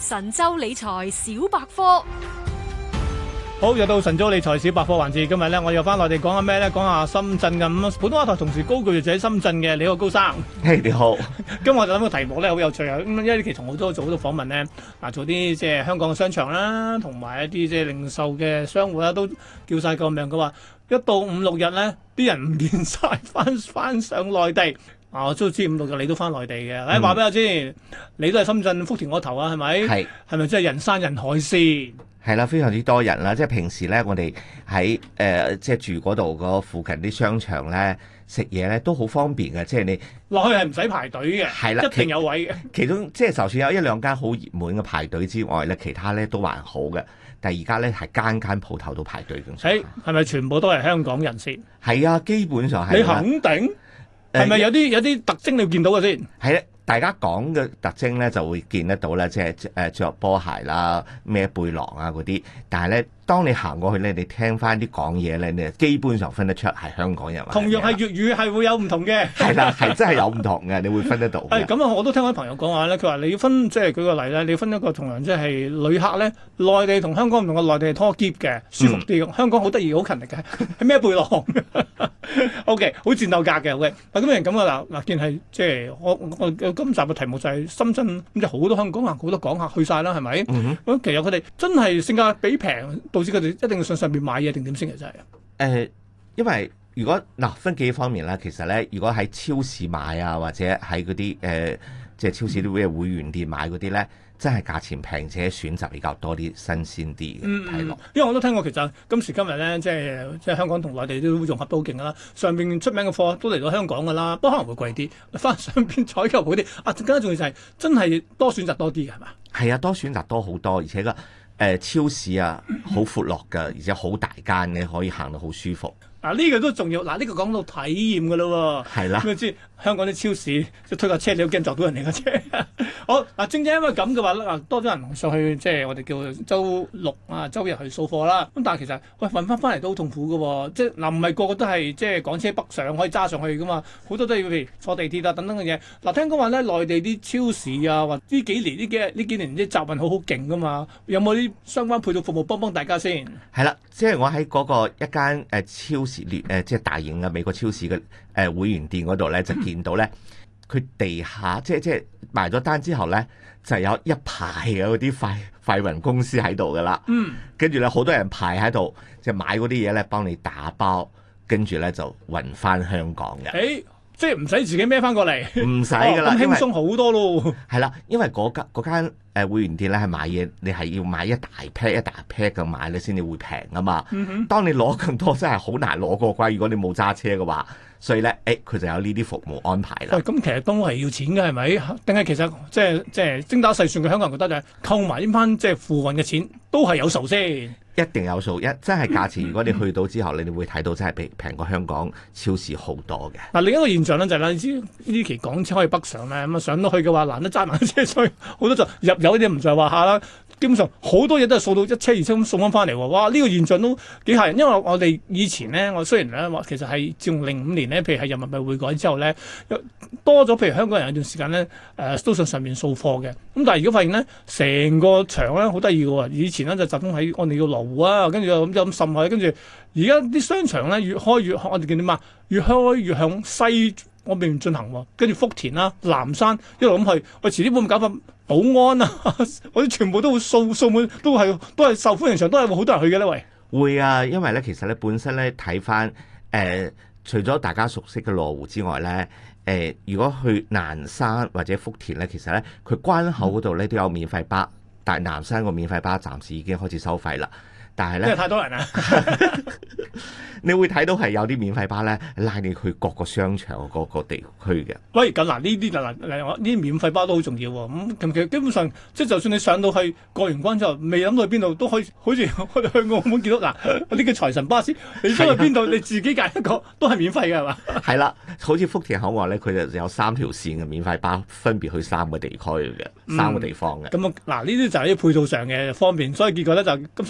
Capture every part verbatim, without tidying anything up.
神州理財小百科。 好，又到神州理財小百科環節。今日咧，我又翻內地講下咩咧？講下深圳嘅咁，普通話台同時高居就喺深圳嘅。你好，高生。 嘿，hey, 你好。 今日我就諗個題目咧，好有趣啊！咁因為呢期同好多做好多訪問咧，嗱做啲即係香港嘅商場啦，同埋一啲即係零售嘅商戶啦，都叫晒救命。佢話一到五六日咧，啲人唔見晒，翻翻上內地。啊，我都知五六日你都翻內地嘅。誒，話俾我知，你都係深圳福田嗰頭啊？係咪？ 係。 係咪真係人山人海先？ 係啦，非常之多人啦。即係平時咧，我哋喺誒即係住嗰度嗰附近啲商場咧，食嘢咧都好方便嘅。即係你落去係唔使排隊嘅， 係啦， 一定有位嘅。 其中即係就算有一兩間好熱門嘅排隊之外咧，其他咧都還好嘅。但係而家咧係間間鋪頭都排隊嘅。 誒，係咪全部都係香港人先？ 係啊，基本上係。 你肯定？係咪有啲有啲特徵你要見到嘅先？ 係咧，大家講嘅特徵咧就會見得到咧，即係誒著波鞋啦、孭背囊啊嗰啲。但係咧，當你行過去咧，你聽翻啲講嘢咧，你基本上分得出係香港人。 同樣係粵語係會有唔同嘅。 係啦，係真係有唔同嘅，你會分得到。 係咁啊！我都聽我啲朋友講話咧，佢話你要分即係舉個例咧，你要分一個同樣即係旅客咧，內地同香港唔同嘅，內地係拖篋嘅，舒服啲。嗯、香港好得意，好勤力嘅，係孭背囊。O K， 好戰鬥格嘅。O K， 嗱咁樣咁啊嗱嗱，見係即係我我，我今集嘅題目就係深圳咁就好多香港人好多港客去晒啦，係咪？咁、嗯、哼其實佢哋真係性價比平，導致佢哋一定要上上邊買嘢定點先嘅真係。誒、 呃，因為如果嗱、呃、分幾方面啦，其實咧，如果喺超市買啊，或者喺嗰啲誒即係超市啲咩會員店買嗰啲咧。真係價錢平且選擇比較多啲新鮮啲嘅睇落， 因為我都聽過其實今時今日咧，即係即係香港同內地都融合都好勁㗎啦。上邊出名嘅貨都嚟到香港㗎啦，不過可能會貴啲，翻上邊採購好啲。啊，更加重要就係真係多選擇多啲嘅係嘛？係啊，多選擇多好多，而且個誒、呃、超市啊好闊落㗎，而且好大間嘅，可以行到好舒服。 嗱呢、啊這個都重要，嗱、啊、呢、這個講到體驗㗎咯喎， 係啦， 咁你知香港啲超市即係推架車，你都驚撞到人哋架車。好嗱、啊，正正因為咁嘅話咧，嗱多咗人上去，即係我哋叫周六啊周日去掃貨啦。咁但係其實喂運翻翻嚟都好痛苦嘅喎，即係嗱唔係個個都係即係港車北上可以揸上去㗎嘛，好多都要譬如坐地鐵啊等等嘅嘢。嗱、啊、聽講話咧，內地啲超市啊，或呢幾年呢幾呢幾年啲集運好好勁㗎嘛，有冇啲相關配套服務幫幫大家先？ 係啦，即係我喺嗰個一間誒超市列誒即係大型嘅美國超市嘅誒會員店嗰度咧，就見到咧。佢地下即係即係埋咗單之後咧，就有一排嘅嗰啲快快運公司喺度噶啦。嗯，跟住咧好多人排喺度，就買嗰啲嘢咧幫你打包，跟住咧就運翻香港嘅。 誒，即係唔使自己孭翻過嚟， 唔使噶啦， 咁輕鬆好多咯。 係啦，因為嗰間嗰間誒會員店咧係買嘢，你係要買一大 pack 一大 pack 咁買咧先至會平啊嘛。嗯哼，當你攞咁多真係好難攞過關，如果你冇揸車嘅話。所以咧，誒佢就有呢啲服務安排啦。 喂，咁其實都係要錢嘅係咪？定係其實即係即係精打細算嘅香港人覺得就係扣埋呢班即係付運嘅錢都係有數先。 一定有數，一真係價錢。如果你去到之後，你哋會睇到真係比平過香港超市好多嘅。嗱， 另一個現象咧就係、是、啦，你知呢期港車可以北上咧，咁啊上到去嘅話難得揸埋車，所以好多就入油啲唔在話下啦。基本上好多嘢都係掃到一車二車咁送翻翻嚟喎。哇！呢、這個現象都幾嚇人，因為我哋以前咧，我雖然咧話其實係自從零五年咧，譬如係人民幣匯改之後咧，多咗譬如香港人有段時間咧，誒、呃、都上上面掃貨嘅。咁但係如果發現咧，成個場咧好得意嘅喎，以前咧就集中喺我哋叫羅湖啊，跟住又咁就咁滲去，跟住而家啲商場咧越開越我哋叫點啊？越開越向西嗰邊進行喎，跟住福田啦、南山一路咁去，我遲啲會唔會搞法保安啊？我哋全部都會掃掃滿，都係都係受歡迎場，都係會好多人去嘅咧，喂。 會啊，因為咧其實咧本身咧睇翻誒，除咗大家熟悉嘅羅湖之外咧，誒、呃、如果去南山或者福田咧，其實咧佢關口嗰度咧都有免費巴，但係南山個免費巴暫時已經開始收費啦。但係咧， 因為太多人啦， 你會睇到係有啲免費巴咧拉你去各個商場各個地區嘅。 喂，咁嗱呢啲嗱嗱呢啲免費巴都好重要喎。咁、嗯、其實基本上即係就算你上到去過完關之後，未諗到去邊度都可以，好似我哋去澳門見到嗱呢個財神巴士，你想去邊度你自己揀一個都係免費嘅係嘛？ 係啦，好似福田口岸咧，佢就有三條線嘅免費巴，分別去三個地區嘅、嗯、三個地方嘅。咁啊嗱，呢啲就係啲配套上嘅方便，所以結果咧就今次唔使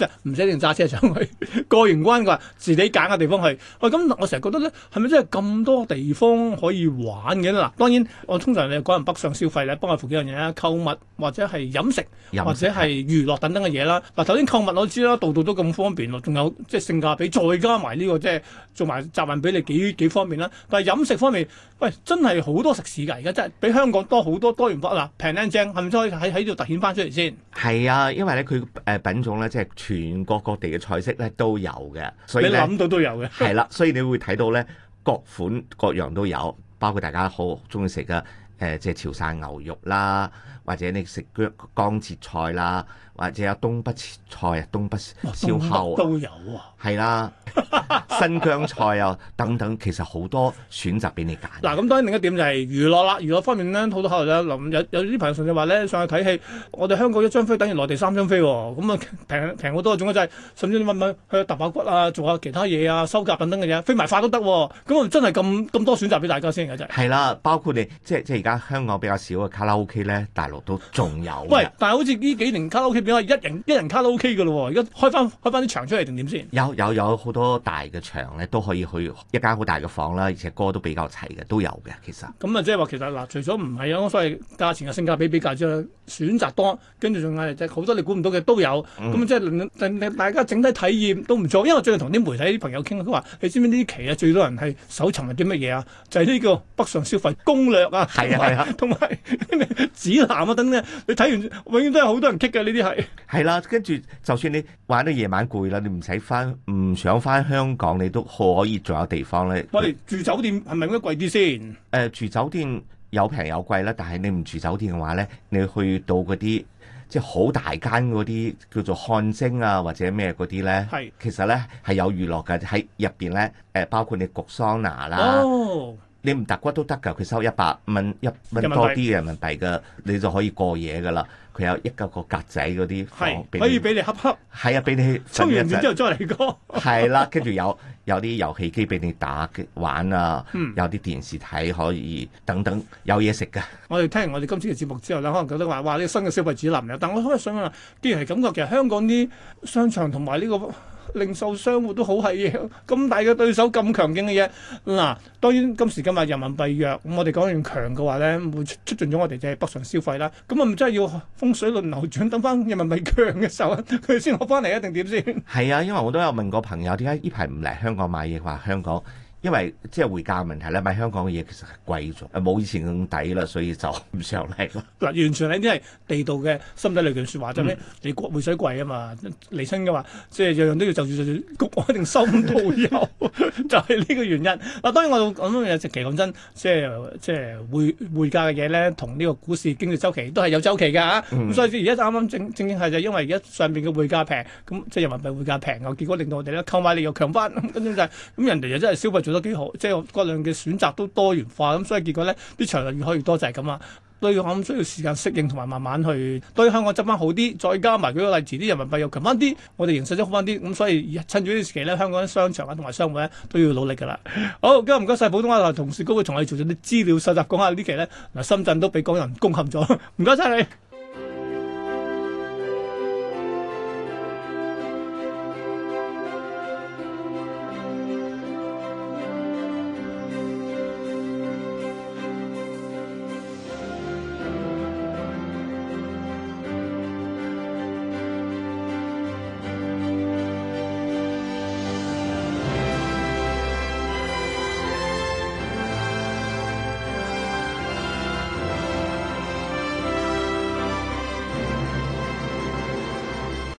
定揸車上去，過完關嘅話自己揀個地方去。喂，咁我成日覺得咧，係咪真係咁多地方可以玩嘅咧？嗱，當然我通常你講人北上消費咧，幫我付幾樣嘢啦，購物或者係飲食， 飲食或者係娛樂等等嘅嘢啦。嗱，頭先購物我知啦，度度都咁方便咯，仲有即係性價比，再加埋呢、這個即係做埋集運俾你幾幾方便啦。但係飲食方面，喂，真係好多食肆㗎，而家真係比香港多好多多元化嗱，平靚正，係咪可以喺喺度突顯翻出嚟先？ 係啊，因為咧佢誒品種咧，即係全國各地嘅菜式咧都有嘅，所以你諗到都有嘅。 係啦，所以你會睇到咧各款各樣都有，包括大家好中意食嘅誒，即係潮汕牛肉啦，或者你食姜江浙菜啦，或者有東北菜啊、東北燒烤都有啊。 係啦，新疆菜啊等等，其實好多選擇俾你揀。 嗱，咁當然另一點就係娛樂啦。娛樂方面咧，好多考慮啦。臨有有啲朋友甚至話咧，上去睇戲，我哋香港一張飛等於內地三張飛喎。咁啊平平好多，仲有就係甚至你問問去揼下骨啊，做下其他嘢啊，收甲等等嘅嘢，飛埋髮都得。咁啊真係咁咁多選擇俾大家先嘅真係。 係啦，包括你即係即係而家香港比較少嘅卡拉 OK 咧，大陸都仲有。 喂，但係好似呢幾年卡拉 OK 變咗一人一人卡拉 OK 嘅咯喎，而家開翻開翻啲場出嚟定點先？ 有有有好多大嘅場咧，都可以去一間好大嘅房啦，而且歌都比較齊嘅，都有嘅其實。 咁啊，即係話其實嗱，除咗唔係有所謂價錢嘅性價比比較之外，選擇多，跟住仲係即係好多你估唔到嘅都有。咁、嗯、即係令令大家整體體驗都唔錯。因為我最近同啲媒體啲朋友傾，佢話你知唔知呢期啊最多人係搜尋係啲乜嘢啊？就係、是、呢個北上消費攻略啊， 係啊係啊， 同埋指南啊等等。你睇完永遠都係好多人棘嘅呢啲係。係啦，跟住就算你玩到夜晚攰啦，你唔使翻唔想翻香港，你都可以仲有地方咧。 我哋住酒店係咪應該貴啲先？誒、 呃，住酒店有平有貴啦，但係你唔住酒店嘅話咧，你去到嗰啲即係好大間嗰啲叫做汗蒸啊或者咩嗰啲咧，係其實咧係有娛樂嘅喺入邊咧。誒，包括你焗桑拿啦。哦。你唔揼骨都得㗎，佢收一百蚊一蚊多啲嘅人民幣嘅，你就可以過夜㗎啦。佢有一個個格仔嗰啲房， 可以俾你恰恰。 係啊，俾你沖完完之後再嚟過。 係啦，跟住有有啲遊戲機俾你打玩啊，嗯、有啲電視睇可以等等，有嘢食㗎。我哋聽完我哋今次嘅節目之後咧，可能覺得話哇呢個新嘅消費指南嚟，但我可能想問，既然係咁嘅，其實香港啲商場同埋呢個零售商戶都好係嘢，咁大嘅對手咁強勁嘅嘢，嗱當然今時今日人民幣弱，咁我哋講完強嘅話咧，會促進咗我哋即係北上消費啦。咁啊唔真係要風水輪流轉，等翻人民幣強嘅時候，佢先攞翻嚟一定點先？係啊，因為我都有問過朋友，點解呢排唔嚟香港買嘢？話香港。因為即係匯價問題咧，買香港嘅嘢其實係貴咗，冇以前咁抵啦，所以就唔上嚟咯。嗱，完全係啲係地道嘅心底裏句説話，就係、是、咩？你匯水貴啊嘛，離親嘅話，即係樣樣都要就住就住，局我一定收唔到油，就係呢個原因。嗱，當然我講嘢直期講真，即係即係匯匯價嘅嘢咧，同呢個股市經濟周期都係有周期㗎嚇。咁、嗯、所以而家啱啱正正正係就因為而家上邊嘅匯價平，咁即係人民幣匯價平啊，結果令到我哋咧購買力又強翻，跟住就係、是、咁人哋又真係消費做得幾好，即係各樣嘅選擇都多元化，咁所以結果咧啲場就越開越多，就係咁啊。對我諗需要時間適應同埋慢慢去對香港執翻好啲，再加埋舉個例子，啲人民幣又強翻啲，我哋形勢都好翻啲，咁所以趁住呢段時期咧，香港啲商場啊同埋商戶咧都要努力㗎啦。好，今日唔該晒普通話台同事高會同我哋做咗啲資料收集，講下呢期咧嗱深圳都俾港人攻陷咗，唔該晒你。